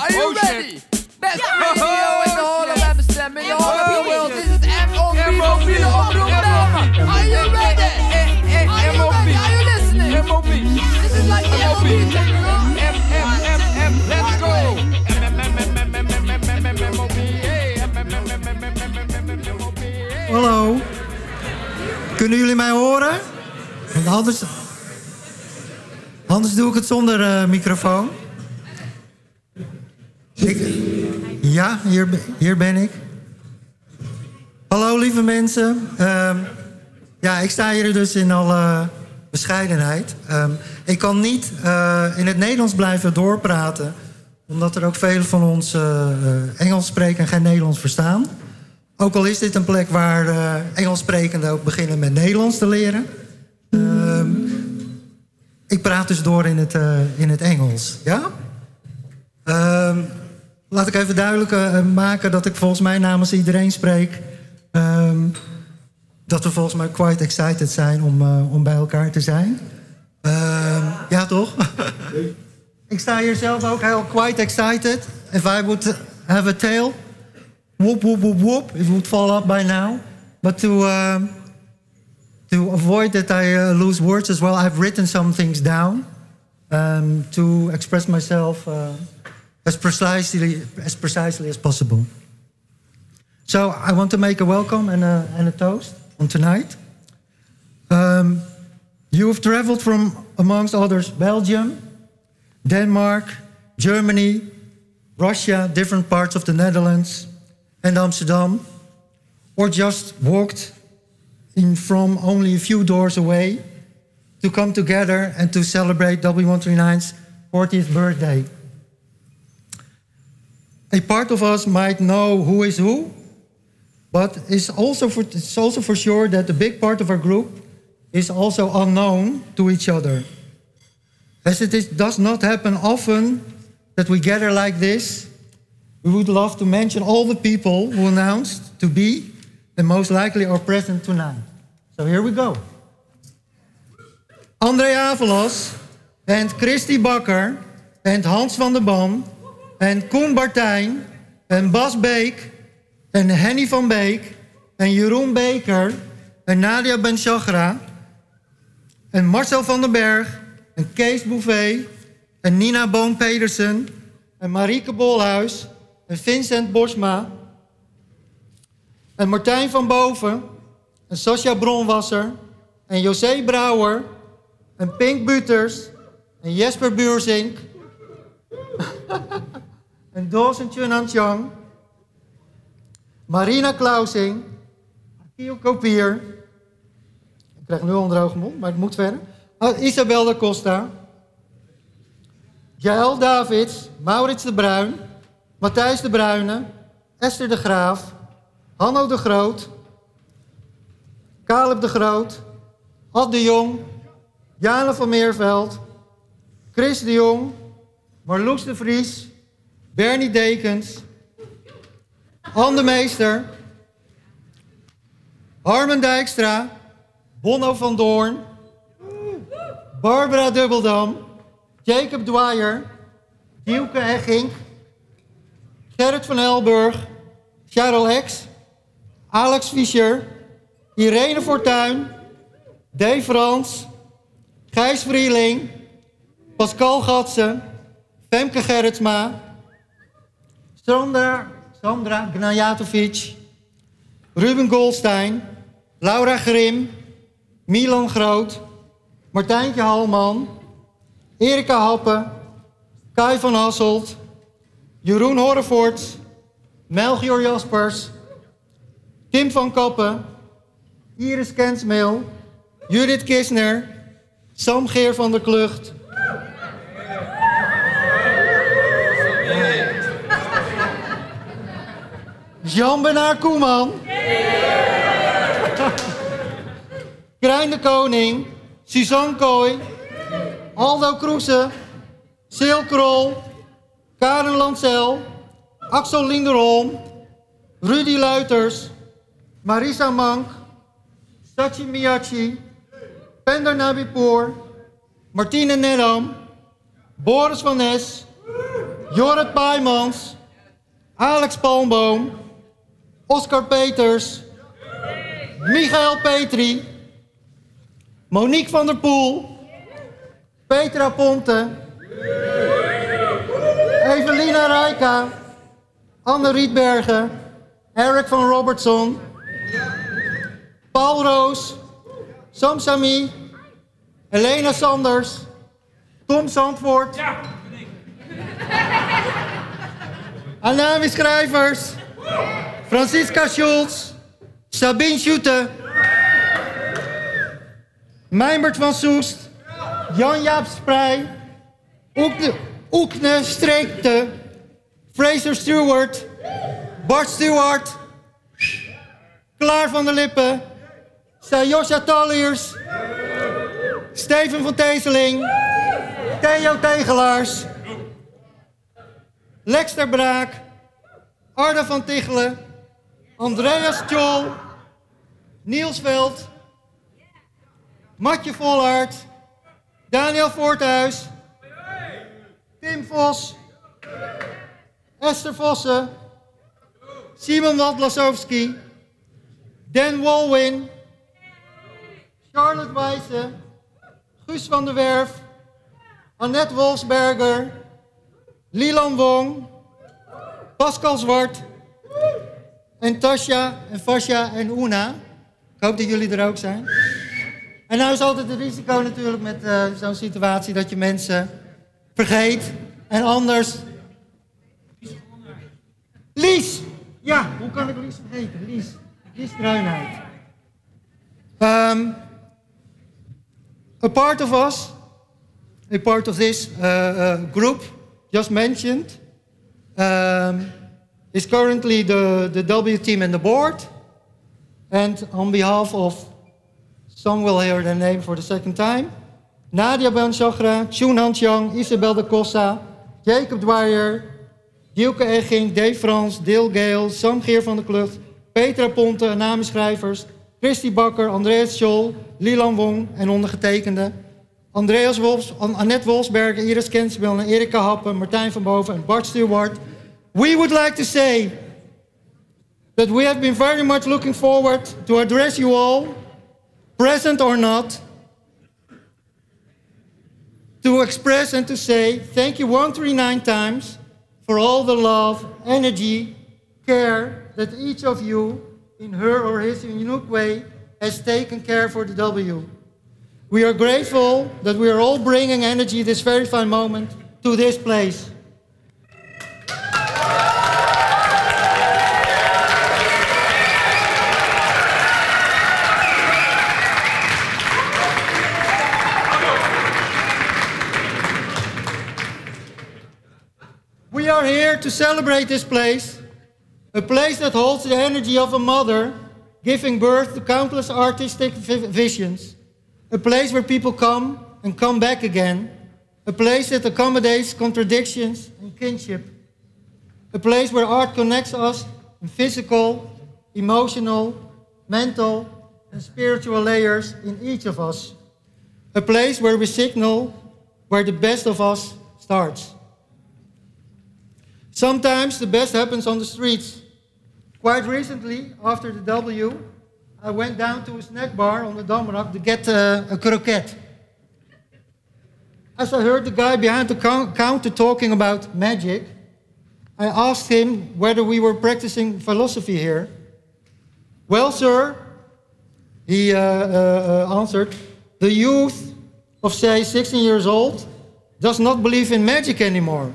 Are you ready? Best radio in the whole of Amsterdam, in the whole of the world. This is MOB. Are you ready? Are you ready? Are you listening? MOB. This is like the MOB. Let's go. Hallo. Kunnen jullie mij horen? Want anders doe ik het zonder microfoon. Ja, hier ben ik. Hallo lieve mensen. Ja, ik sta hier dus in alle bescheidenheid. Ik kan niet in het Nederlands blijven doorpraten, omdat er ook velen van ons Engels spreken en geen Nederlands verstaan. Ook al is dit een plek waar Engels sprekenden ook beginnen met Nederlands te leren. Ik praat dus door in het Engels. Ja? Laat ik even duidelijk maken dat ik volgens mij namens iedereen spreek. Dat we volgens mij quite excited zijn om bij elkaar te zijn. Ja, toch? Ik sta hier zelf ook heel quite excited. If I would have a tail, whoop, whoop, whoop, whoop, it would fall up by now. But to avoid that I lose words as well, I've written some things down to express myself as precisely as possible. So I want to make a welcome and a toast on tonight. You have traveled from, amongst others, Belgium, Denmark, Germany, Russia, different parts of the Netherlands, and Amsterdam, or just walked in from only a few doors away to come together and to celebrate W139's 40th birthday. A part of us might know who is who, but it's also for sure that a big part of our group is also unknown to each other. As it does not happen often that we gather like this, we would love to mention all the people who announced to be and most likely are present tonight. So here we go. André Avelas and Christy Bakker and Hans van der Ban and Koen Bartijn en Bas Beek en Henny van Beek en Jeroen Beker en Nadia Ben-Shagra en Marcel van den Berg en Kees Bouvet en Nina Boon-Pedersen en Marieke Bolhuis en Vincent Bosma en Martijn van Boven en Sascha Bronwasser en José Brouwer en Pink Buters en Jesper Buurzink en Dawson Chunanchang, Marina Klausing, Akil Kopier, ik krijg nu al een droge mond, maar het moet verder, Isabel da Costa, Jaël Davids, Maurits de Bruin, Matthijs de Bruyne, Esther de Graaf, Hanno de Groot, Caleb de Groot, Ad de Jong, Jane van Meerveld, Chris de Jong, Marloes de Vries, Bernie Dekens, Anne de Meester, Harmen Dijkstra, Bonno van Doorn, Barbara Dubbeldam, Jacob Dwyer, Dielke Hechink, Gerrit van Elburg, Charles X, Alex Fischer, Irene Fortuyn, Dave Frans, Gijs Vrieling, Pascal Gatsen, Femke Gerritsma, Sandra Gnajatovic, Ruben Goldstein, Laura Grim, Milan Groot, Martijntje Halman, Erika Happe, Kai van Hasselt, Jeroen Horrevoort, Melchior Jaspers, Tim van Kappen, Iris Kensmeel, Judith Kisner, Sam Geer van der Klucht, Jean-Bernard Koeman, Krijn de Koning, Suzanne Kooi, Aldo Kroese, Sil Krol, Karen Lancel, Axel Linderholm, Rudy Luiters, Marisa Mank, Sachi Miyachi, Pender Nabipour, Martine Nedam, Boris van Nes, Jorrit Paijmans, Alex Palmboom, Oscar Peters, Michael Petri, Monique van der Poel, Petra Ponte, Evelina Rijka, Anne Rietbergen, Eric van Robertson, Paul Roos, Sam Sami, Helena Sanders, Tom Zandvoort, Anami Schrijvers, Francisca Schulz, Sabine Schutte, Mijnbert van Soest, Jan-Jaap Sprij, Oekne Streekte, Fraser Stewart, Bart Stewart, Klaar van der Lippen, Sayosha Talliers, Steven van Teeseling, Theo Tegelaars, Lex ter Braak, Arda van Tichelen, Andreas Tjol, Niels Veld, Matje Volhard, Daniel Voorthuis, Tim Vos, Esther Vossen, Simon Wadlasowski, Dan Walwin, Charlotte Wijse, Guus van der Werf, Annette Wolfsberger, Lilan Wong, Pascal Zwart en Tasja en Fasja en Una. Ik hoop dat jullie er ook zijn. En nou is altijd het risico natuurlijk met zo'n situatie dat je mensen vergeet en anders... Lies! Ja, hoe kan ik Lies vergeten? Lies Struinhout. A part of us, a part of this group just mentioned, is currently the W team and the board. And on behalf of, some will hear their name for the second time, Nadia Ben-Chagra, Chun Han-Chiang, Isabel de Cossa, Jacob Dwyer, Dielke Egging, Dave Frans, Dale Gale, Sam Geer van der Klucht, Petra Ponte, namenschrijvers, Christy Bakker, Andreas Scholl, Lilan Wong en ondergetekende, Andreas Wolfs, Annette Wolfsberger, Iris Kensbel en Erika Happen, Martijn van Boven en Bart Stewart. We would like to say that we have been very much looking forward to address you all, present or not, to express and to say thank you 139 times for all the love, energy, care that each of you, in her or his unique way, has taken care for the W. We are grateful that we are all bringing energy this very fine moment to this place. We are here to celebrate this place, a place that holds the energy of a mother giving birth to countless artistic visions, a place where people come and come back again, a place that accommodates contradictions and kinship, a place where art connects us in physical, emotional, mental, and spiritual layers in each of us, a place where we signal where the best of us starts. Sometimes the best happens on the streets. Quite recently, after the W, I went down to a snack bar on the Damrak to get a croquette. As I heard the guy behind the counter talking about magic, I asked him whether we were practicing philosophy here. Well, sir, he answered, the youth of, say, 16 years old does not believe in magic anymore.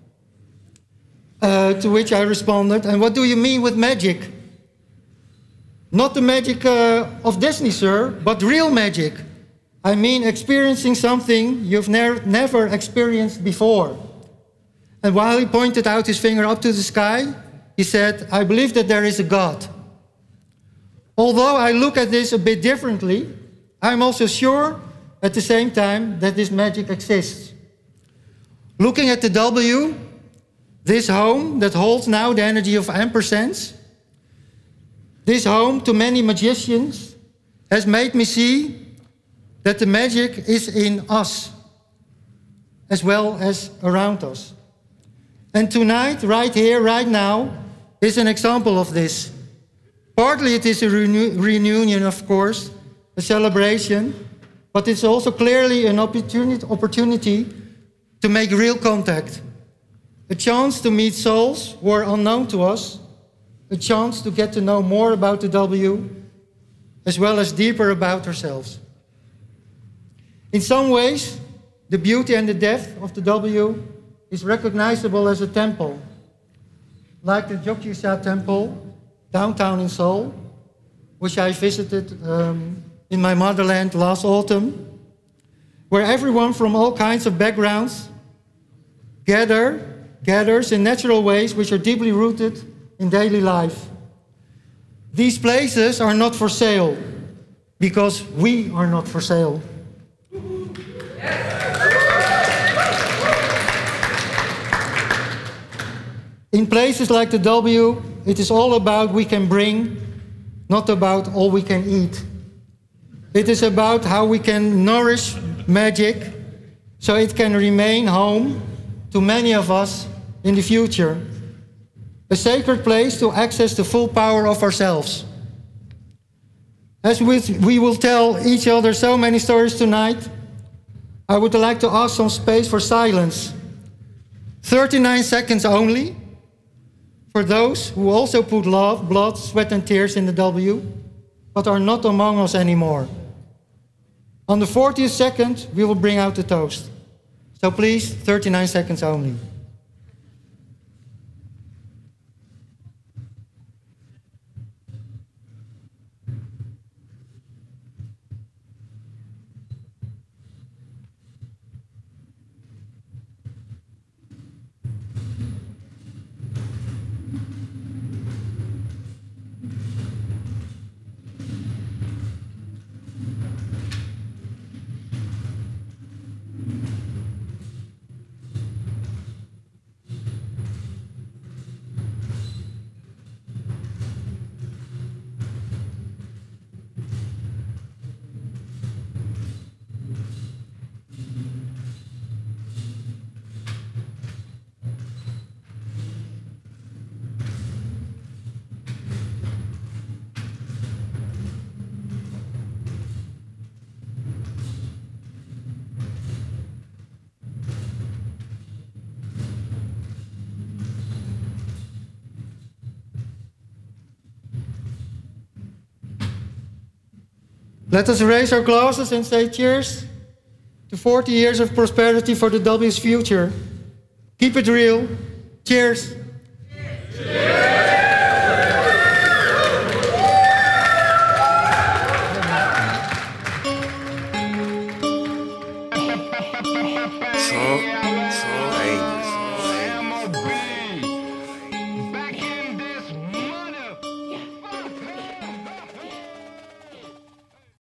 To which I responded, and what do you mean with magic? Not the magic of Disney, sir, but real magic. I mean experiencing something you've never experienced before. And while he pointed out his finger up to the sky, he said, I believe that there is a God. Although I look at this a bit differently, I'm also sure at the same time that this magic exists. Looking at the W, this home that holds now the energy of ampersands, this home to many magicians, has made me see that the magic is in us as well as around us. And tonight, right here, right now, is an example of this. Partly it is a reunion, of course, a celebration, but it's also clearly an opportunity to make real contact. A chance to meet souls who are unknown to us, a chance to get to know more about the W, as well as deeper about ourselves. In some ways, the beauty and the depth of the W is recognizable as a temple, like the Jogjesha Temple, downtown in Seoul, which I visited in my motherland last autumn, where everyone from all kinds of backgrounds gathers in natural ways which are deeply rooted in daily life. These places are not for sale, because we are not for sale. In places like the W, it is all about we can bring, not about all we can eat. It is about how we can nourish magic so it can remain home to many of us in the future. A sacred place to access the full power of ourselves. As we will tell each other so many stories tonight, I would like to ask some space for silence. 39 seconds only, for those who also put love, blood, sweat and tears in the W, but are not among us anymore. On the 40th second, we will bring out the toast. So please, 39 seconds only. Let us raise our glasses and say cheers to 40 years of prosperity for the W's future. Keep it real. Cheers. Trump,